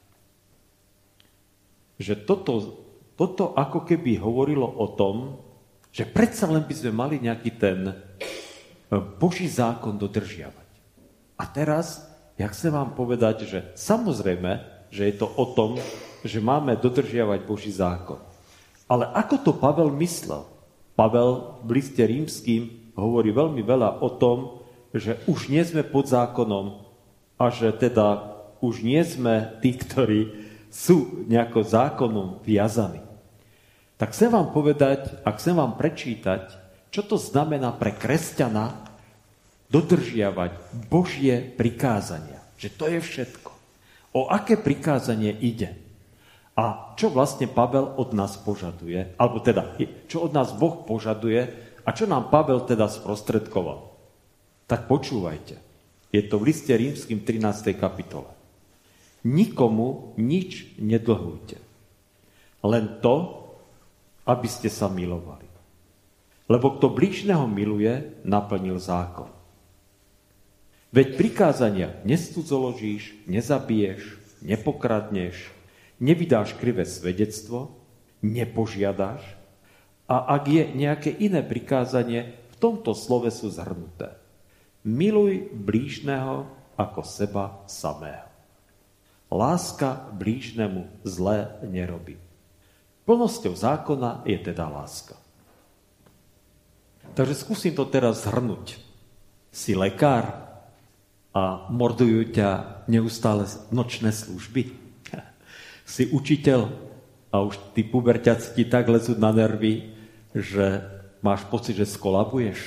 že toto ako keby hovorilo o tom, že predsa len by sme mali nejaký ten Boží zákon dodržiavať. A teraz ja chcem vám povedať, že samozrejme, že je to o tom, že máme dodržiavať Boží zákon. Ale ako to Pavel myslel? Pavel v liste rímskym hovorí veľmi veľa o tom, že už nie sme pod zákonom a že teda už nie sme tí, ktorí sú nejako zákonom viazaní. Tak chcem vám povedať a chcem vám prečítať, čo to znamená pre kresťana dodržiavať Božie prikázania. Že to je všetko. O aké prikázanie ide? A čo vlastne Pavel od nás požaduje? Alebo teda, čo od nás Boh požaduje a čo nám Pavel teda sprostredkoval? Tak počúvajte. Je to v liste rímskym 13. kapitole. Nikomu nič nedlhujte. Len to, aby ste sa milovali. Lebo kto blížneho miluje, naplnil zákon. Veď prikázania nescudzoložíš, nezabiješ, nepokradneš, nevydáš krivé svedectvo, nepožiadaš a ak je nejaké iné prikázanie, v tomto slove sú zhrnuté. Miluj blížneho ako seba samého. Láska blížnemu zlé nerobí. Plnosťou zákona je teda láska. Takže skúsim to teraz zhrnúť. Si lekár a mordujú ťa neustále nočné služby. Si učiteľ a už tí puberťaci ti tak lezú na nervy, že máš pocit, že skolabuješ.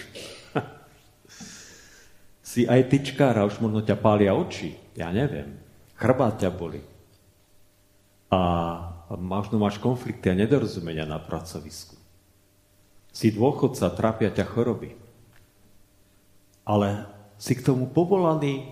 Si aj tyčkár a už možno ťa pália oči, ja neviem. Chrbát ťa boli. A možno máš konflikty a nedorozumenia na pracovisku. Si dôchodca, trápia ťa choroby. Ale si k tomu povolaný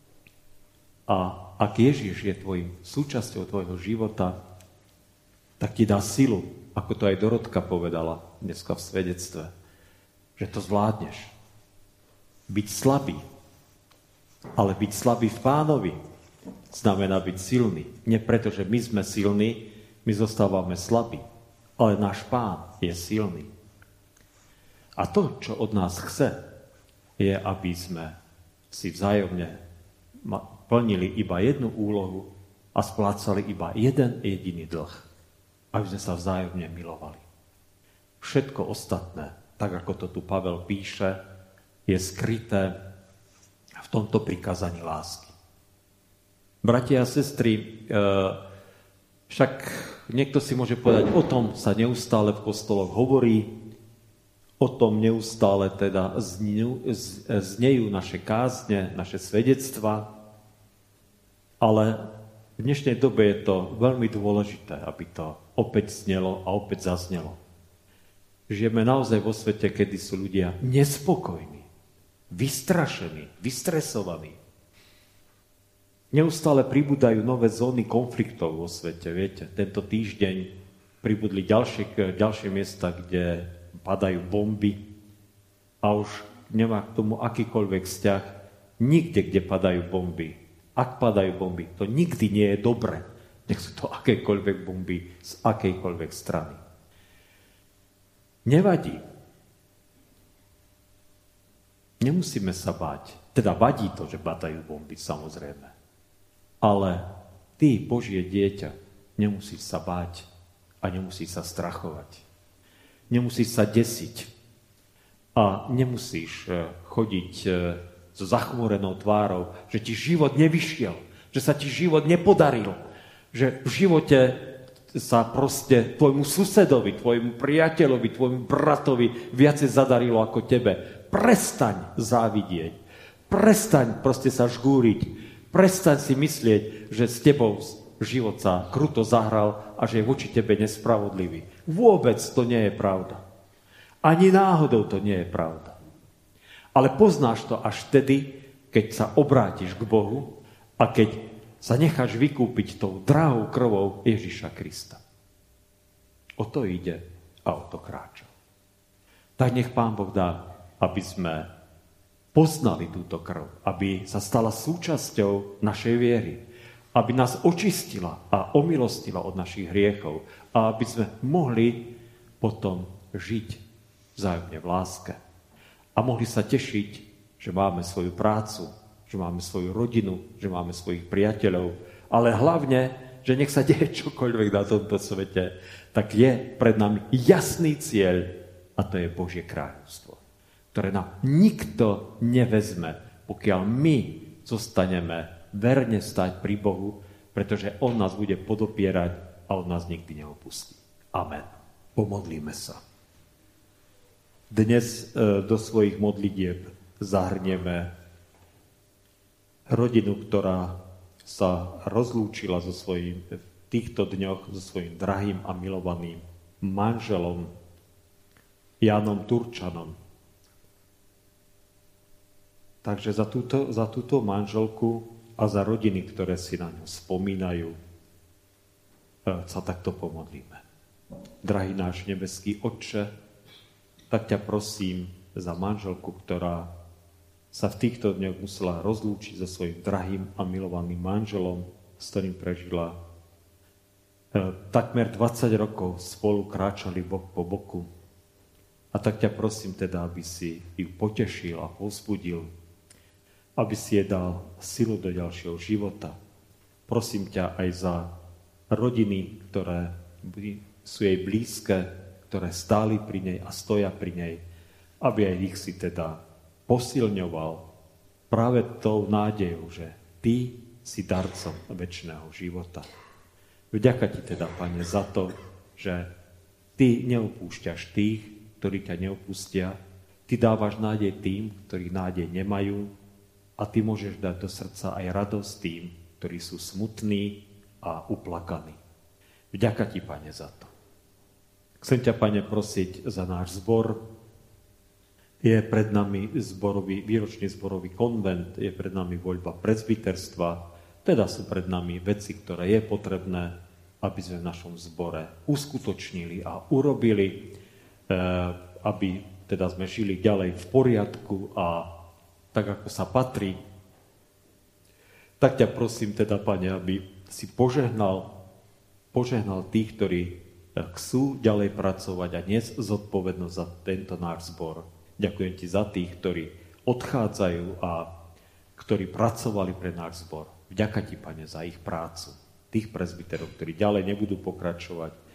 a ak Ježiš je súčasťou tvojho života, tak ti dá silu, ako to aj Dorotka povedala dneska v svedectve, že to zvládneš. Byť slabý, ale byť slabý v Pánovi znamená byť silný. Nie preto, že my sme silní, my zostávame slabí, ale náš Pán je silný. A to, čo od nás chce, je, aby sme si vzájomne plnili iba jednu úlohu a splácali iba jeden jediný dlh. aby sme sa vzájomne milovali. Všetko ostatné, tak ako to tu Pavel píše, je skryté v tomto prikázaní lásky. Bratia a sestry, však niekto si môže povedať, o tom sa neustále v kostoloch hovorí, o tom neustále teda znejú naše kázne, naše svedectvá, ale v dnešnej dobe je to veľmi dôležité, aby to opäť znelo a opäť zaznelo. Žijeme naozaj vo svete, kedy sú ľudia nespokojní, vystrašení, vystresovaní. Neustále pribúdajú nové zóny konfliktov vo svete. Viete, tento týždeň pribudli ďalšie miesta, kde padajú bomby a už nemá k tomu akýkoľvek vzťah. Nikde, kde padajú bomby. Ak padajú bomby, to nikdy nie je dobre. Nech sú to akékoľvek bomby z akejkoľvek strany. Nevadí. Nemusíme sa báť. Teda vadí to, že padajú bomby, samozrejme. Ale ty, Božie dieťa, nemusíš sa báť a nemusíš sa strachovať. Nemusíš sa desiť a nemusíš chodiť so zachmúrenou tvárou, že ti život nevyšiel, že sa ti život nepodaril, že v živote sa proste tvojmu susedovi, tvojmu priateľovi, tvojmu bratovi viacej zadarilo ako tebe. Prestaň závidieť, prestaň proste sa žgúriť, prestaň si myslieť, že s tebou život sa kruto zahral a že je voči tebe nespravodlivý. Vôbec to nie je pravda. Ani náhodou to nie je pravda. Ale poznáš to až vtedy, keď sa obrátiš k Bohu a keď sa necháš vykúpiť tou drahou krvou Ježiša Krista. O to ide a o to kráča. Tak nech Pán Boh dá, aby sme poznali túto krv, aby sa stala súčasťou našej viery, aby nás očistila a omilostila od našich hriechov a aby sme mohli potom žiť vzájomne v láske a mohli sa tešiť, že máme svoju prácu, že máme svoju rodinu, že máme svojich priateľov, ale hlavne, že nech sa deje čokoľvek na tomto svete, tak je pred nami jasný cieľ a to je Božie kráľovstvo, ktoré nám nikto nevezme, pokiaľ my zostaneme verne stáť pri Bohu, pretože On nás bude podopierať a On nás nikdy neopustí. Amen. Pomodlíme sa. Dnes do svojich modlitieb zahrnieme rodinu, ktorá sa rozlúčila v týchto dňoch so svojím drahým a milovaným manželom Jánom Turčanom. Takže za túto manželku a za rodiny, ktoré si na ňu spomínajú, sa takto pomodlíme. Drahý náš nebeský Otče, tak ťa prosím za manželku, ktorá sa v týchto dňoch musela rozlúčiť so svojím drahým a milovaným manželom, s ktorým prežila takmer 20 rokov, spolu kráčali bok po boku. A tak ťa prosím teda, aby si ju potešil a povzbudil, aby si jej dal silu do ďalšieho života. Prosím ťa aj za rodiny, ktoré sú jej blízke, ktoré stáli pri nej a stoja pri nej, aby aj ich si teda posilňoval práve tou nádejou, že ty si darcom večného života. Vďaka ti teda, Pane, za to, že ty neopúšťaš tých, ktorí ťa neopustia, ty dávaš nádej tým, ktorí nádej nemajú a ty môžeš dať do srdca aj radosť tým, ktorí sú smutní a uplakaní. Vďaka ti, Pane, za to. Chcem ťa, Pane, prosiť za náš zbor. Je pred nami výročný zborový konvent, je pred nami voľba presbyterstva, teda sú pred nami veci, ktoré je potrebné, aby sme v našom zbore uskutočnili a urobili, aby teda sme žili ďalej v poriadku a tak, ako sa patrí. Tak ťa prosím teda, Pane, aby si požehnal tých, ktorí chcú ďalej pracovať a niesť zodpovednosť za tento náš zbor. Ďakujem ti za tých, ktorí odchádzajú a ktorí pracovali pre náš zbor. Vďaka ti, Pane, za ich prácu. Tých presbyterov, ktorí ďalej nebudú pokračovať.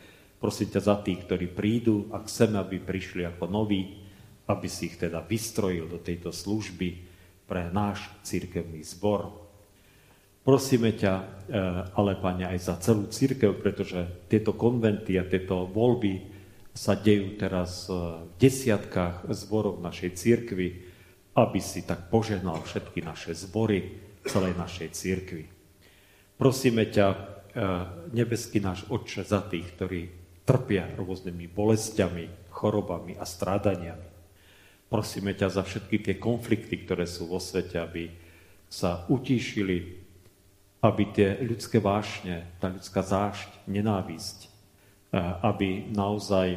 Prosím ťa za tých, ktorí prídu a chceme, aby prišli ako noví, aby si ich teda vystrojil do tejto služby pre náš cirkevný zbor. Prosíme ťa, ale Pane, aj za celú cirkev, pretože tieto konventy a tieto voľby sa dejú teraz v desiatkách zborov našej cirkvi, aby si tak požehnal všetky naše zbory celej našej cirkvi. Prosíme ťa, nebeský náš Otče, za tých, ktorí trpia rôznymi bolestiami, chorobami a strádaniami. Prosíme ťa za všetky tie konflikty, ktoré sú vo svete, aby sa utíšili, aby tie ľudské vášne, tá ľudská zášť, nenávisť, aby naozaj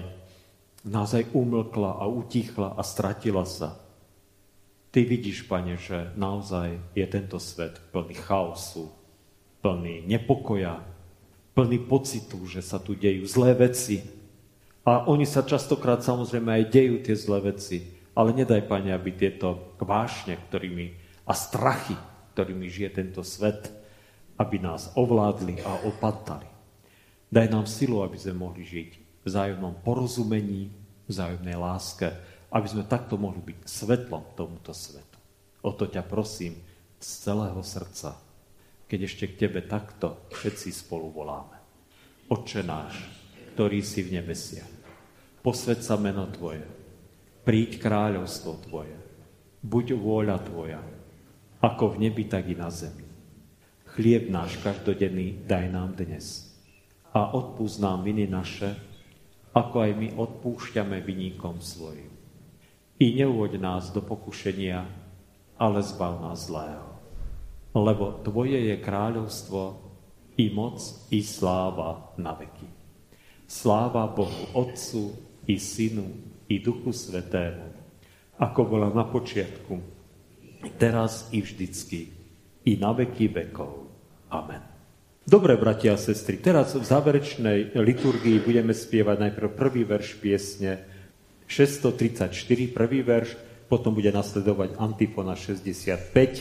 umlkla a utichla a stratila sa. Ty vidíš, Pane, že naozaj je tento svet plný chaosu, plný nepokoja, plný pocitu, že sa tu dejú zlé veci. A oni sa častokrát samozrejme aj dejú tie zlé veci, ale nedaj, Pane, aby tieto vášne, a strachy, ktorými žije tento svet, aby nás ovládli a opatali. Daj nám silu, aby sme mohli žiť v vzájomnom porozumení, vzájomnej láske, aby sme takto mohli byť svetlom tomuto svetu. O to ťa prosím z celého srdca, keď ešte k tebe takto všetci spolu voláme. Otče náš, ktorý si v nebesiach, posväť sa meno Tvoje, príď kráľovstvo Tvoje, buď vôľa Tvoja, ako v nebi, tak i na zemi. Chlieb náš každodenný daj nám dnes a odpúsť nám viny naše, ako aj my odpúšťame viníkom svojim. I neuvoď nás do pokušenia, ale zbav nás zlého. Lebo Tvoje je kráľovstvo, i moc, i sláva na veky. Sláva Bohu Otcu, i Synu, i Duchu Svätému, ako bola na počiatku, teraz i vždycky, i na veky vekov. Amen. Dobre, bratia a sestry, teraz v záverečnej liturgii budeme spievať najprv prvý verš piesne 634, prvý verš, potom bude nasledovať antifona 65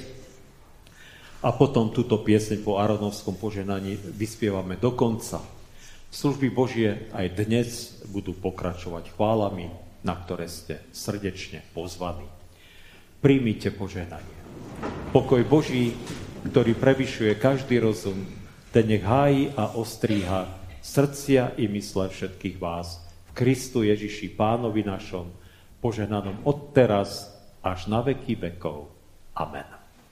a potom túto pieseň po Aronovskom požehnaní vyspievame do konca. Služby Božie aj dnes budú pokračovať chválami, na ktoré ste srdečne pozvaní. Príjmite požehnanie. Pokoj Boží, ktorý prevyšuje každý rozum, ten nech hájí a ostríha srdcia i mysle všetkých vás v Kristu Ježiši Pánovi našom, požehnanom od teraz až na veky vekov. Amen.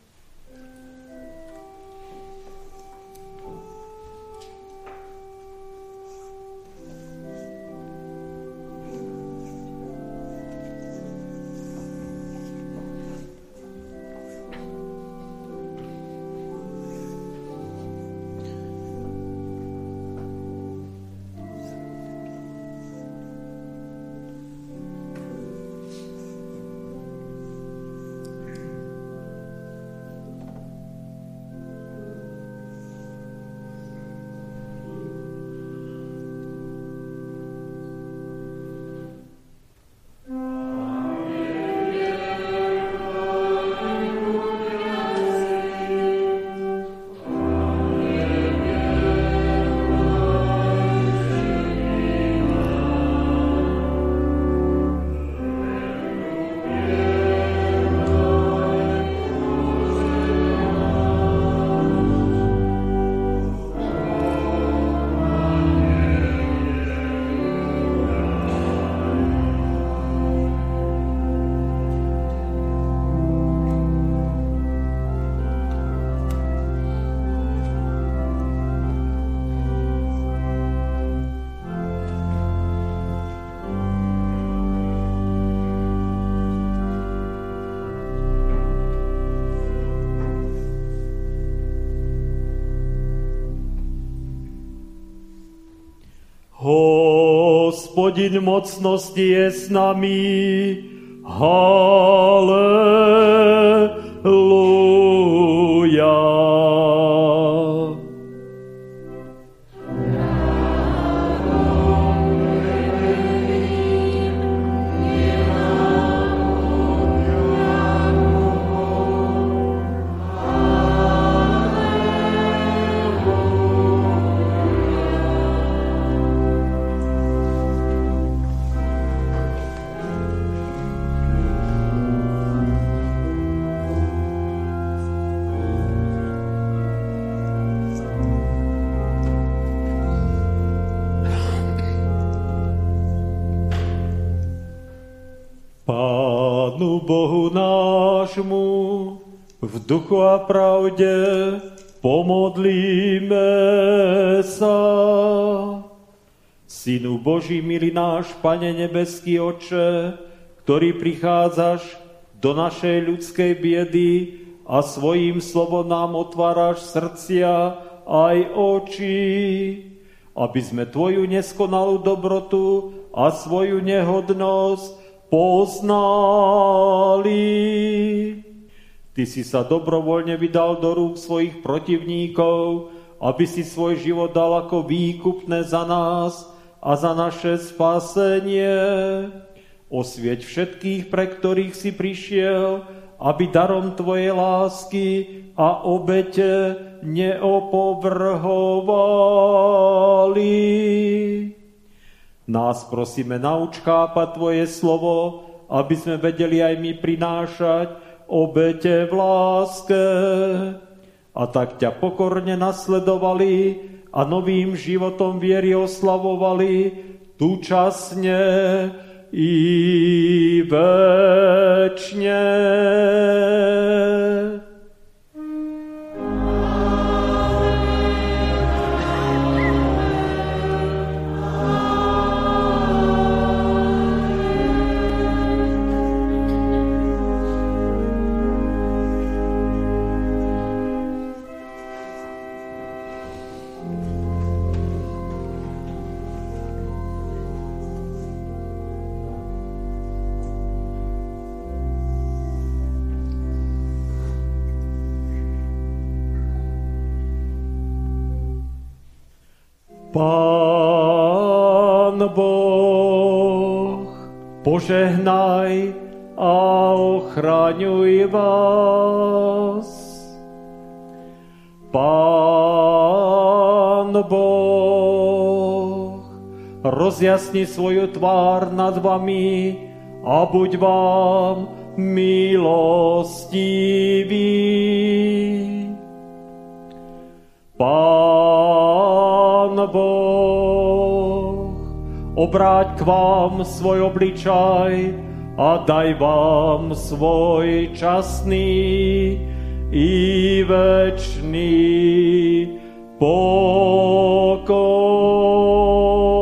Hospodin mocnosti je s nami. Halleluja. Pánu Bohu nášmu v duchu a pravde pomodlíme sa. Synu Boží, milý náš Pane nebeský Otče, ktorý prichádzaš do našej ľudskej biedy a svojím slovom nám otváraš srdcia aj oči, aby sme Tvoju neskonalú dobrotu a svoju nehodnosť poznali. Ty si sa dobrovoľne vydal do rúk svojich protivníkov, aby si svoj život dal ako výkupné za nás a za naše spasenie. Osvieť všetkých, pre ktorých si prišiel, aby darom Tvojej lásky a obete neopovrhovali. Nás prosíme, nauč chápať Tvoje slovo, aby sme vedeli aj my prinášať obete v láske. A tak ťa pokorne nasledovali a novým životom viery oslavovali túčasne i večne. Pán Boh, požehnaj a ochraňuj vás. Pán Boh, rozjasni svoju tvár nad vami a buď vám milostivý. Pán Boh, obráť k vám svoj obličaj a daj vám svoj časný i večný pokoj.